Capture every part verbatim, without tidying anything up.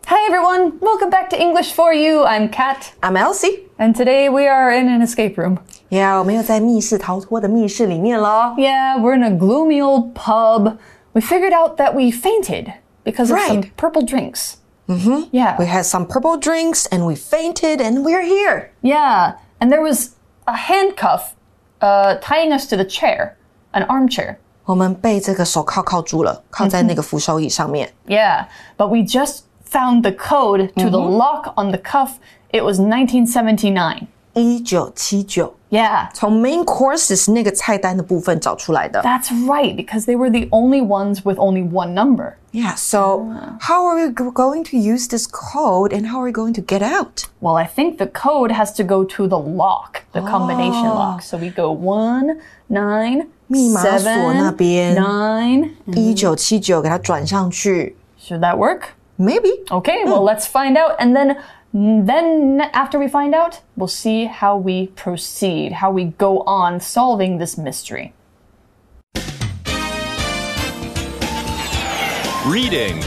Hi everyone, welcome back to English for You. I'm Kat. I'm Elsie. And today we are in an escape room. Yeah, 我们又在密室逃脱的密室里面咯。 Yeah, we're in a gloomy old pub. We figured out that we fainted because of right. some purple drinks. Mm-hmm. Yeah. We had some purple drinks and we fainted and we're here. Yeah, and there was a handcuff uh, tying us to the chair, an armchair. 我们被这个手銬銬住了，銬在那个扶手椅上面。 Yeah, but we just found the code to mm-hmm. the lock on the cuff. It was nineteen seventy-nine. 一九七九 Yeah. 从 main courses 那个菜单的部分找出来的。 That's right, because they were the only ones with only one number. Yeah, so uh. how are we going to use this code and how are we going to get out? Well, I think the code has to go to the lock, the combination oh. lock. So we go one, nine, 密碼鎖那邊 nine, 一九七九给它轉上去 Should that work? Maybe. Okay, well, let's find out. And then, then after we find out, we'll see how we proceed, how we go on solving this mystery. Reading.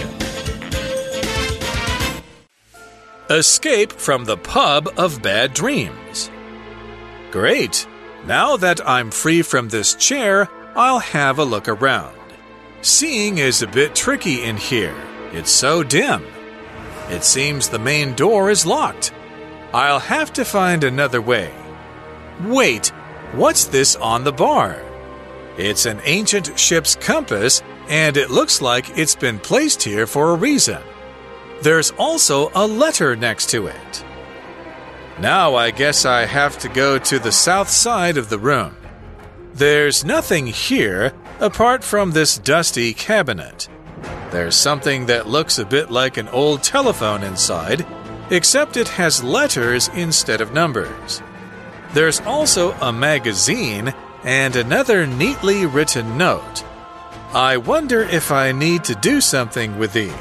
Escape from the pub of bad dreams. Great. Now that I'm free from this chair, I'll have a look around. Seeing is a bit tricky in here. It's so dim. It seems the main door is locked. I'll have to find another way. Wait, what's this on the bar? It's an ancient ship's compass, and it looks like it's been placed here for a reason. There's also a letter next to it. Now I guess I have to go to the south side of the room. There's nothing here apart from this dusty cabinet. There's something that looks a bit like an old telephone inside, except it has letters instead of numbers. There's also a magazine and another neatly written note. I wonder if I need to do something with these.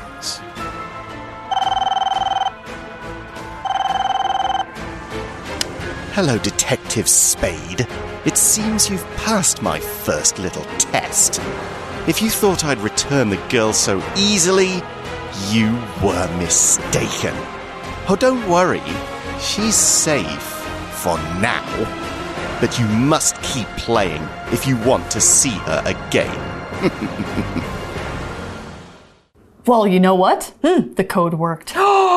Hello, Detective Spade. It seems you've passed my first little test. If you thought I'd return the girl so easily, you were mistaken. Oh, don't worry. She's safe for now. But you must keep playing if you want to see her again. Well, you know what? Mm. The code worked.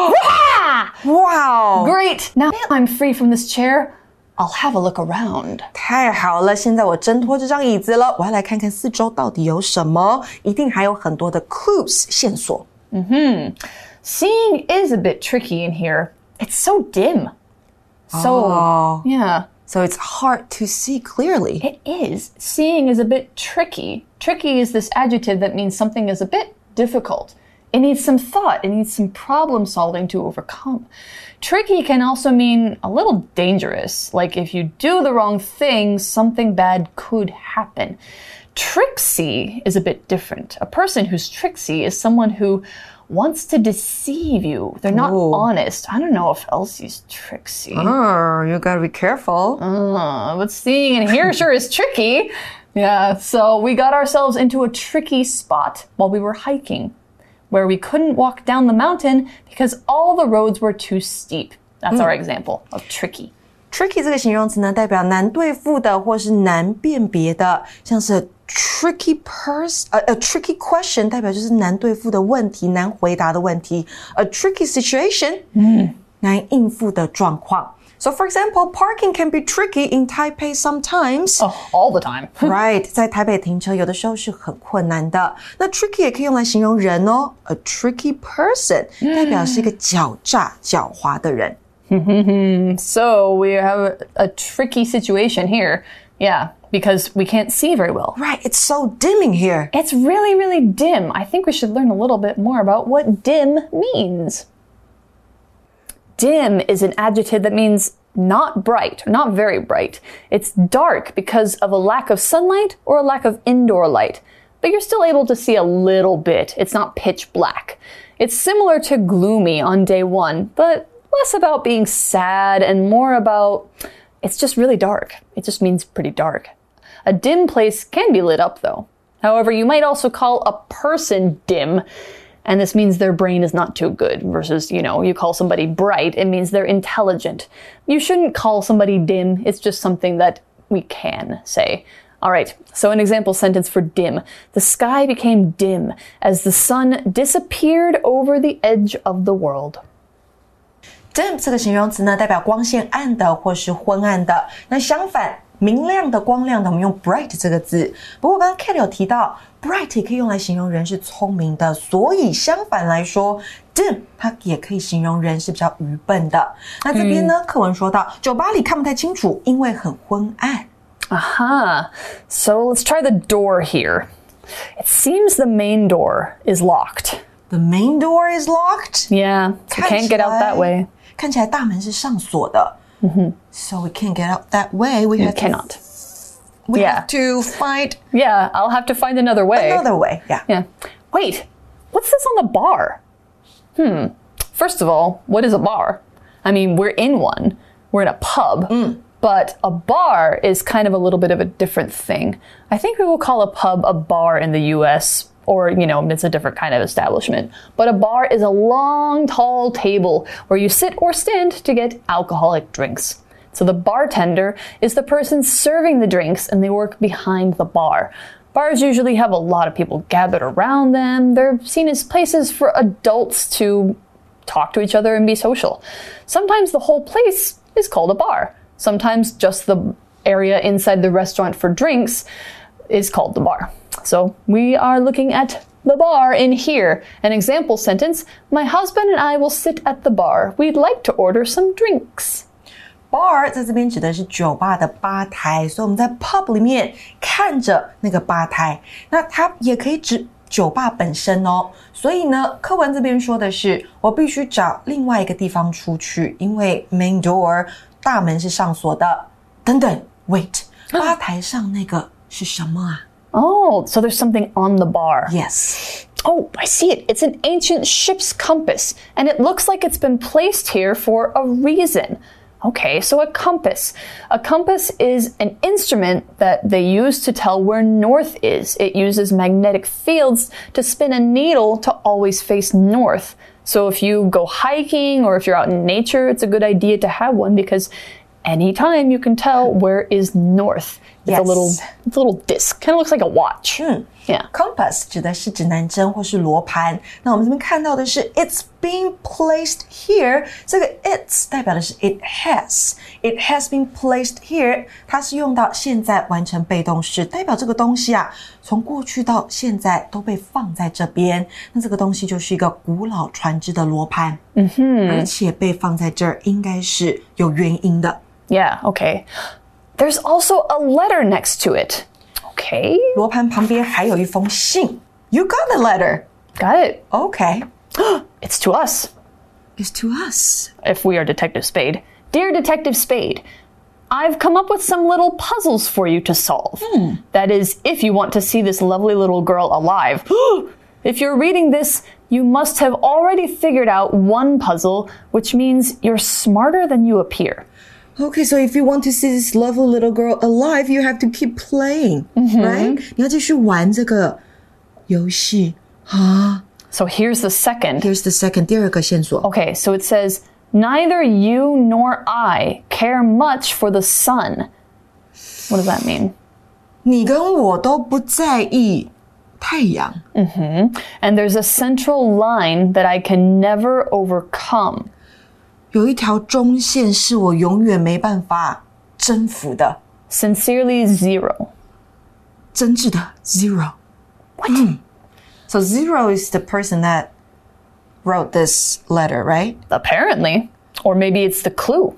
Wow! Great! Now I'm free from this chair. I'll have a look around. 太好了，现在我挣脱这张椅子了，我要来看看四周到底有什么，一定还有很多的 clues 线索。 Mm-hmm. Seeing is a bit tricky in here. It's so dim. So, oh. yeah. So it's hard to see clearly. It is. Seeing is a bit tricky. Tricky is this adjective that means something is a bit difficult. It needs some thought. It needs some problem solving to overcome. Tricky can also mean a little dangerous. Like if you do the wrong thing, something bad could happen. Tricksy is a bit different. A person who's tricksy is someone who wants to deceive you. They're not Ooh. honest. I don't know if Elsie's tricksy. Oh, you gotta be careful. Uh, but seeing and here sure is tricky. Yeah, so we got ourselves into a tricky spot while we were hiking, where we couldn't walk down the mountain because all the roads were too steep. That's our example of tricky. Tricky 这个形容词呢，代表难对付的或是难辨別的，像是 tricky person, a, a tricky question 代表就是难对付的問題，難回答的問題。A tricky situation, 嗯，難應付的狀況。So, for example, parking can be tricky in Taipei sometimes. Oh, all the time. Right. 在台北停車有的時候是很困難的。那 tricky 也可以用來形容人哦。A tricky person 代表是一個狡詐、狡猾的人。 So, we have a, a tricky situation here. Yeah, because we can't see very well. Right. It's so dim in here. It's really, really dim. I think we should learn a little bit more about what dim means. Dim is an adjective that means not bright, not very bright. It's dark because of a lack of sunlight or a lack of indoor light. But you're still able to see a little bit. It's not pitch black. It's similar to gloomy on day one, but less about being sad and more about it's just really dark. It just means pretty dark. A dim place can be lit up though. However, you might also call a person dim. And this means their brain is not too good versus, you know, you call somebody bright, it means they're intelligent. You shouldn't call somebody dim. It's just something that we can say. All right, so an example sentence for dim. The sky became dim as the sun disappeared over the edge of the world. Dim 這個形容詞呢，代表光線暗的或是昏暗的。那相反，明亮的、光亮的，我們用 bright 這個字。不過剛剛 Kate 有提到 bright 也可以用來形容人是聰明的，所以相反來說 dim 它也可以形容人是比較愚笨的。那這邊呢，課文說到酒吧裡看不太清楚，因為很昏暗。 Aha. So let's try the door here. It seems the main door is locked. The main door is locked? Yeah, so we can't get out that way. 看起來大門是上鎖的。Mm-hmm. So we can't get out that way. We, we have cannot. To, we yeah. have to find... Yeah, I'll have to find another way. Another way, yeah. Yeah. Wait, what's this on the bar? Hmm. First of all, what is a bar? I mean, we're in one. We're in a pub. Mm. But a bar is kind of a little bit of a different thing. I think we will call a pub a bar in the U S, or, you know, it's a different kind of establishment. But a bar is a long, tall table where you sit or stand to get alcoholic drinks. So the bartender is the person serving the drinks, and they work behind the bar. Bars usually have a lot of people gathered around them. They're seen as places for adults to talk to each other and be social. Sometimes the whole place is called a bar. Sometimes just the area inside the restaurant for drinks is called the bar. So we are looking at the bar in here. An example sentence, my husband and I will sit at the bar. We'd like to order some drinks. Bar 在這邊指的是酒吧的吧台，所以我們在 pub 裡面看着那個吧台，那它也可以指酒吧本身哦。所以呢，課文這邊說的是，我必須找另外一個地方出去，因為 main door 大門是上鎖的。等等 ，wait， 吧台上那個是什麼啊？ Oh, so there's something on the bar. Yes. Oh, I see it. It's an ancient ship's compass, and it looks like it's been placed here for a reason. Okay, so a compass. A compass is an instrument that they use to tell where north is. It uses magnetic fields to spin a needle to always face north. So if you go hiking or if you're out in nature, it's a good idea to have one because anytime you can tell where is north. It's yes. a little, it's a little disc. Kind of looks like a watch. Mm. Yeah. Compass 指的是指南針或是羅盤。那我們這邊看到的是 it's being placed here. 這個 it's 代表的是 it has. It has been placed here. 它是用到現在完成被動式，代表這個東西啊，從過去到現在都被放在這邊。那這個東西就是一個古老船隻的羅盤。嗯哼，而且被放在這兒應該是有原因的。 Yeah, okay. There's also a letter next to it. Okay. 羅盤旁邊還有一封信。You got the letter. Got it. Okay. It's to us. It's to us. If we are Detective Spade. Dear Detective Spade, I've come up with some little puzzles for you to solve. Hmm. That is, if you want to see this lovely little girl alive. If you're reading this, you must have already figured out one puzzle, which means you're smarter than you appear. Okay, so if you want to see this lovely little girl alive, you have to keep playing, mm-hmm. right? 你要繼續玩這個遊戲啊。 So here's the second. Here's the second. 第二個線索。 Okay, so it says, neither you nor I care much for the sun. What does that mean? 你跟我都不在意太陽。 Mm-hmm. And there's a central line that I can never overcome. 有一條中線是我永遠沒辦法征服的。 Sincerely zero. 真摯的 zero. What? Mm. So zero is the person that wrote this letter, right? Apparently. Or maybe it's the clue.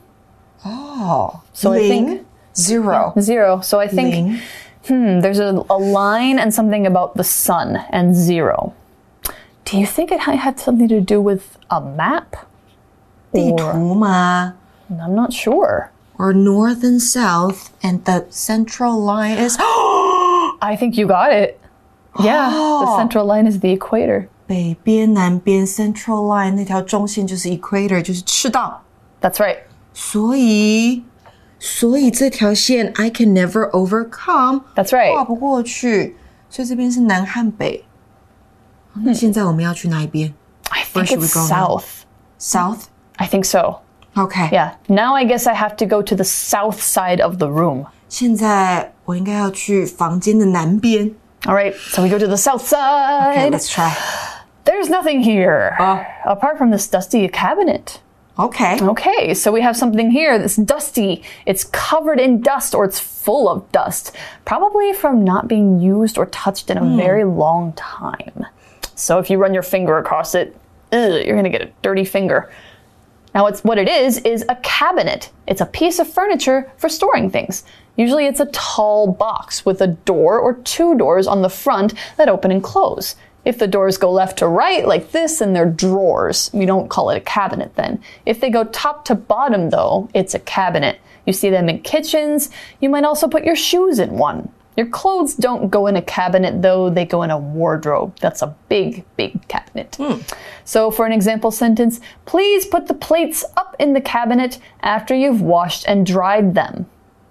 Oh. So Ling, I think zero. Yeah, zero. So I think Ling. hmm, there's a, a line and something about the sun and zero. Do you think it had something to do with a map? 地圖嗎? I'm not sure. Or north and south, and the central line is... I think you got it. Yeah, oh. The central line is the equator. 北邊南邊 central line 那條中線就是 equator, 就是赤道. That's right. 所以所以這條線 I can never overcome. That's right. 跨不過去，所以這邊是南和北。 那現在我們要去哪一邊？ I think it's south. South? I think so. Okay. Yeah. Now I guess I have to go to the south side of the room. 現在我應該要去房間的南邊。 All right. So we go to the south side. Okay, let's try. There's nothing here. Uh, apart from this dusty cabinet. Okay. Okay, so we have something here that's dusty. It's covered in dust or it's full of dust. Probably from not being used or touched in a mm. very long time. So if you run your finger across it, ugh, you're going to get a dirty finger. Now, it's, what it is, is a cabinet. It's a piece of furniture for storing things. Usually it's a tall box with a door or two doors on the front that open and close. If the doors go left to right like this, then they're drawers. We don't call it a cabinet then. If they go top to bottom, though, it's a cabinet. You see them in kitchens. You might also put your shoes in one. Your clothes don't go in a cabinet, though. They go in a wardrobe. That's a big, big cabinet. Mm. So for an example sentence, please put the plates up in the cabinet after you've washed and dried them.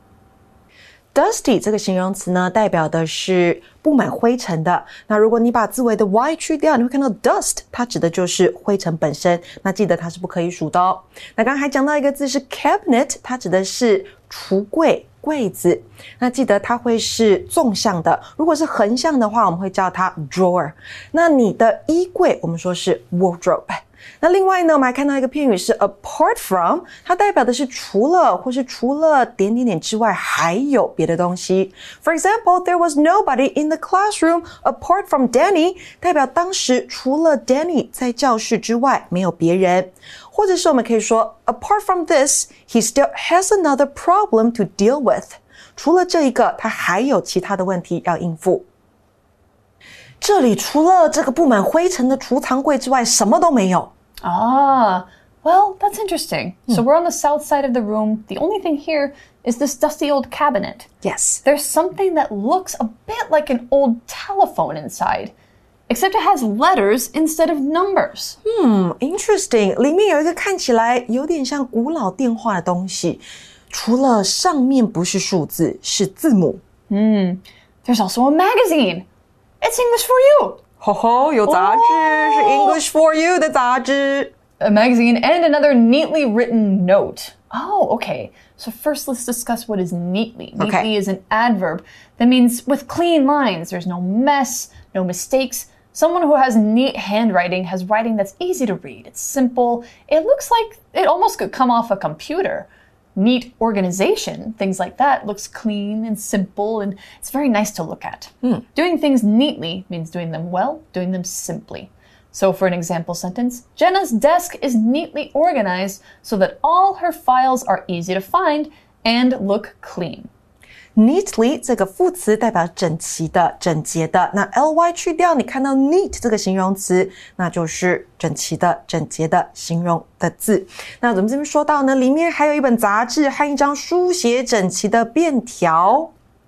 Dusty 這個形容詞呢，代表的是布滿灰塵的。那如果你把字尾的 y 去掉，你會看到 dust， 它指的就是灰塵本身。那記得它是不可以數的哦。那剛剛還講到一個字是 cabinet， 它指的是櫥櫃、櫃子。那記得它會是縱向的，如果是橫向的話，我們會叫它 drawer。那你的衣櫃，我們說是 wardrobe。那另外呢，我們還看到一個片語是 apart from， 它代表的是除了或是除了點點點之外還有別的東西。For example, there was nobody in the classroom apart from Danny， 代表當時除了 Danny 在教室之外沒有別人。或者是我們可以說 apart from this, he still has another problem to deal with。 除了這一個，他還有其他的問題要應付。這裡除了這個布滿灰塵的儲藏櫃之外，什麼都沒有。 Ah, well, that's interesting. Hmm. So we're on the south side of the room. The only thing here is this dusty old cabinet. Yes. There's something that looks a bit like an old telephone inside, except it has letters instead of numbers. Hmm, interesting. 裡面有一個看起來有點像古老電話的東西，除了上面不是數字，是字母。 Hmm. There's also a magazine. It's English for you. 吼吼，有雜誌，是 English for you 的雜誌。 A magazine and another neatly written note. Oh, okay. So first let's discuss what is neatly. Neatly okay. is an adverb that means with clean lines. There's no mess, no mistakes. Someone who has neat handwriting has writing that's easy to read. It's simple. It looks like it almost could come off a computer. Neat organization, things like that, looks clean and simple, and it's very nice to look at. Mm. Doing things neatly means doing them well, doing them simply. So for an example sentence, Jenna's desk is neatly organized so that all her files are easy to find and look clean. Neatly 這個副詞代表整齊的、整潔的。那 ly 去掉，你看到 neat 這個形容詞，那就是整齊的、整潔的形容的字。那我們這邊說到呢，裡面還有一本雜誌和一張書寫整齊的便條。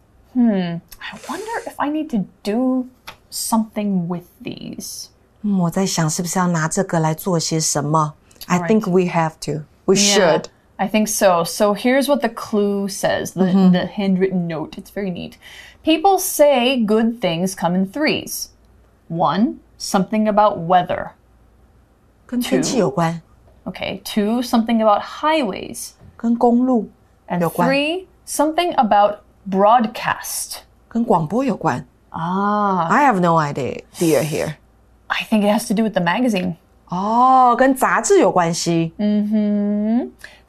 Hmm, I wonder if I need to do something with these. 嗯，我在想是不是要拿這個來做些什麼？ I think we have to. We yeah. should. I think so. So here's what the clue says, the, mm-hmm. the handwritten note. It's very neat. People say good things come in threes. One, something about weather. 跟天氣有關。 Okay. Two, something about highways. 跟公路有關。 And three, something about broadcast. 跟廣播有關。 Ah. I have no idea here. I think it has to do with the magazine. 哦，跟雜誌有關係。 Mm-hmm.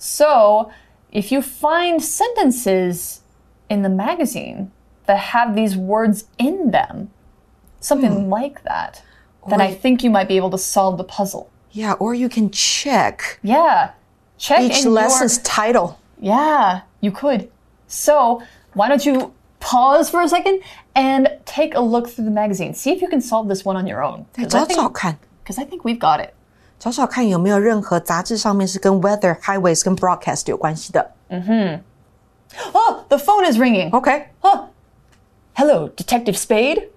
So, if you find sentences in the magazine that have these words in them, something mm. like that, then or, I think you might be able to solve the puzzle. Yeah, or you can check. Yeah. Check each in lesson's your... title. Yeah, you could. So, why don't you pause for a second and take a look through the magazine. See if you can solve this one on your own. 找找看。 Because I think we've got it. 找找看有沒有任何雜誌上面是跟 weather, highways 跟 broadcast 有關係的。 Mm-hmm. Oh, the phone is ringing. Okay. Oh. Hello, Detective Spade?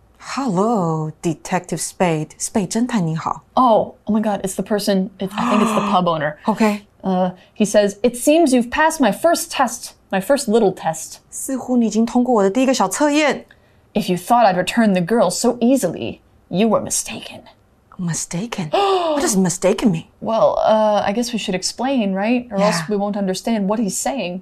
Hello, Detective Spade. Spade 偵探你好。 Oh, oh my God, it's the person, it, I think it's the pub owner. Okay. Uh, he says, it seems you've passed my first test, my first little test. 似乎你已經通過我的第一個小測驗。 If you thought I'd return the girl so easily, You were mistaken. Mistaken? What does mistaken mean? Well, uh, I guess we should explain, right? Or yeah. else we won't understand what he's saying.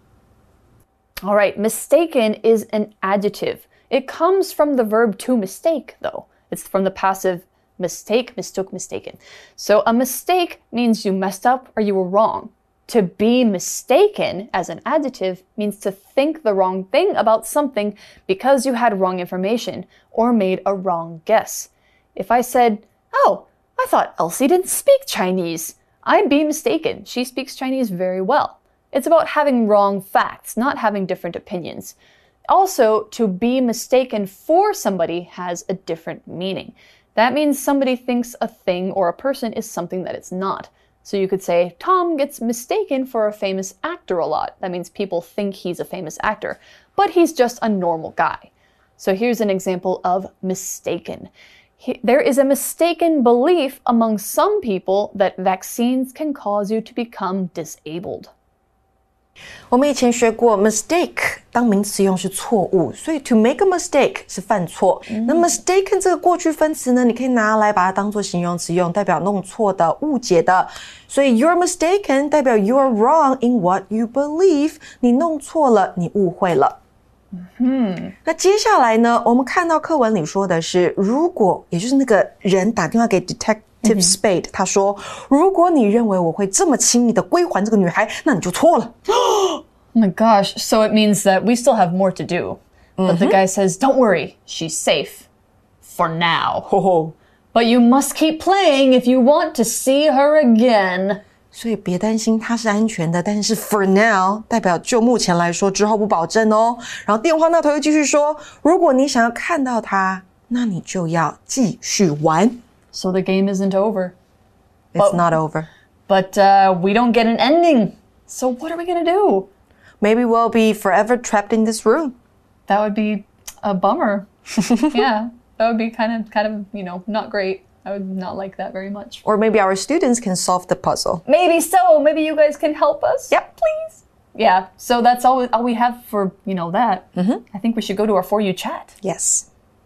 All right, mistaken is an adjective. It comes from the verb to mistake, though. It's from the passive mistake, mistook, mistaken. So a mistake means you messed up or you were wrong. To be mistaken as an adjective means to think the wrong thing about something because you had wrong information or made a wrong guess. If I said, oh, I thought Elsie didn't speak Chinese, I'd be mistaken. She speaks Chinese very well. It's about having wrong facts, not having different opinions. Also, to be mistaken for somebody has a different meaning. That means somebody thinks a thing or a person is something that it's not. So you could say, Tom gets mistaken for a famous actor a lot. That means people think he's a famous actor, but he's just a normal guy. So here's an example of mistaken. He, there is a mistaken belief among some people that vaccines can cause you to become disabled. 我们以前学过 mistake 当名词用是错誤，所以 to make a mistake 是犯錯。嗯、那 mistaken 這個過去分詞呢，你可以拿來把它當作形容詞用，代表弄錯的、誤解的。所以 you're mistaken 代表 you're wrong in what you believe， 你弄錯了，你誤會了。嗯，那接下來呢，我們看到課文裡說的是，如果也就是那個人打電話給 detective Spade， 他說，如果你認為我會這麼輕易的歸還這個女孩，那你就錯了。 Oh my gosh, so it means that we still have more to do. But the guy says, don't worry, she's safe. For now. But you must keep playing if you want to see her again. 所以別擔心，她是安全的，但是 for now 代表就目前來說，之後不保證哦。然後電話那頭又繼續說，如果你想要看到她，那你就要繼續玩。 So the game isn't over. It's but, not over. But uh, we don't get an ending. So what are we going to do? Maybe we'll be forever trapped in this room. That would be a bummer. Yeah, that would be kind of, kind of, you know, not great. I would not like that very much. Or maybe our students can solve the puzzle. Maybe so. Maybe you guys can help us. Yep. Please. Yeah, so that's all, all we have for, you know, that. Mm-hmm. I think we should go to our For You chat. Yes.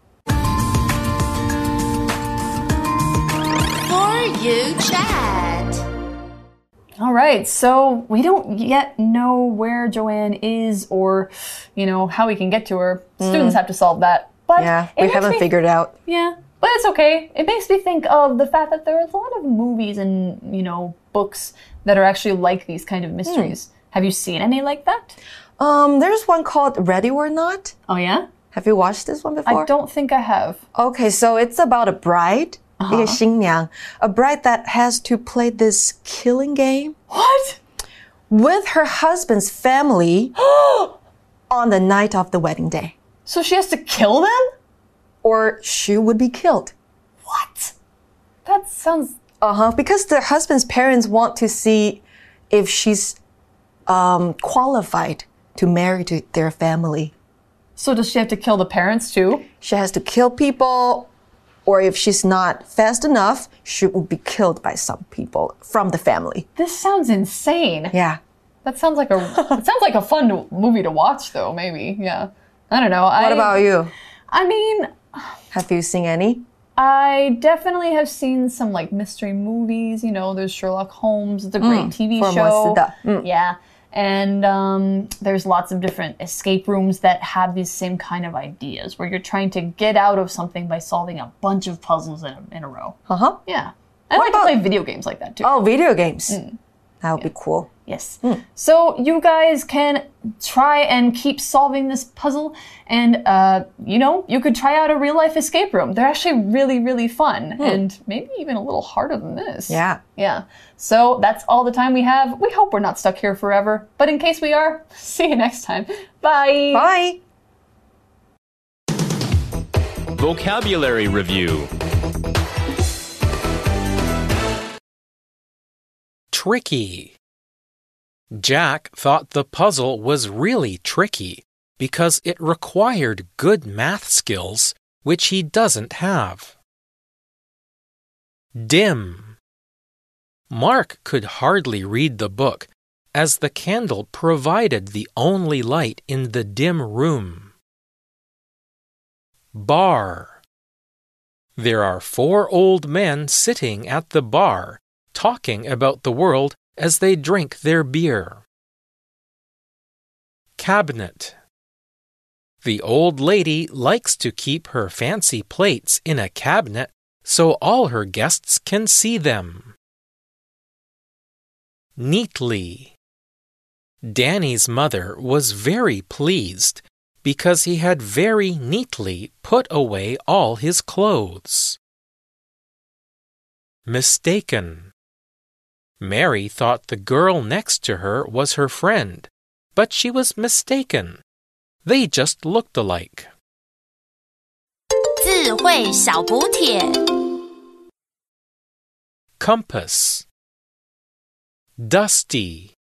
You chat. All right, so we don't yet know where Joanne is or, you know, how we can get to her. Mm. Students have to solve that. But yeah, we haven't me, figured out. Yeah, but it's okay. It makes me think of the fact that there are a lot of movies and, you know, books that are actually like these kind of mysteries. Mm. Have you seen any like that? Um, there's one called Ready or Not. Oh, yeah? Have you watched this one before? I don't think I have. Okay, so it's about a bride. Uh-huh. 一個新娘, a bride that has to play this killing game. What? With her husband's family on the night of the wedding day. So she has to kill them? Or she would be killed. What? That sounds... Uh-huh, because the husband's parents want to see if she's um, qualified to marry to their family. So does she have to kill the parents too? She has to kill people... Or if she's not fast enough, she will be killed by some people from the family. This sounds insane. Yeah. That sounds like a it sounds like a fun movie to watch though, maybe. Yeah. I don't know. What I, about you? I mean, have you seen any? I definitely have seen some like mystery movies, you know, there's Sherlock Holmes, it's a great mm, T V show. Mm. Yeah. And um, there's lots of different escape rooms that have these same kind of ideas where you're trying to get out of something by solving a bunch of puzzles in a, in a row. Uh-huh. Yeah. I what like about... to play video games like that too. Oh, video games. Mm. That would yeah. be cool. Yes. Mm. So you guys can try and keep solving this puzzle. And, uh, you know, you could try out a real-life escape room. They're actually really, really fun. Mm. And maybe even a little harder than this. Yeah. Yeah. So that's all the time we have. We hope we're not stuck here forever. But in case we are, see you next time. Bye. Bye. Vocabulary Review. Tricky. Jack thought the puzzle was really tricky because it required good math skills, which he doesn't have. Dim. Mark could hardly read the book, as the candle provided the only light in the dim room. Bar. There are four old men sitting at the bar, talking about the world as they drink their beer. Cabinet. The old lady likes to keep her fancy plates in a cabinet so all her guests can see them. Neatly. Danny's mother was very pleased because he had very neatly put away all his clothes. Mistaken. Mary thought the girl next to her was her friend, but she was mistaken. They just looked alike. 智慧小補帖 Compass. Dusty.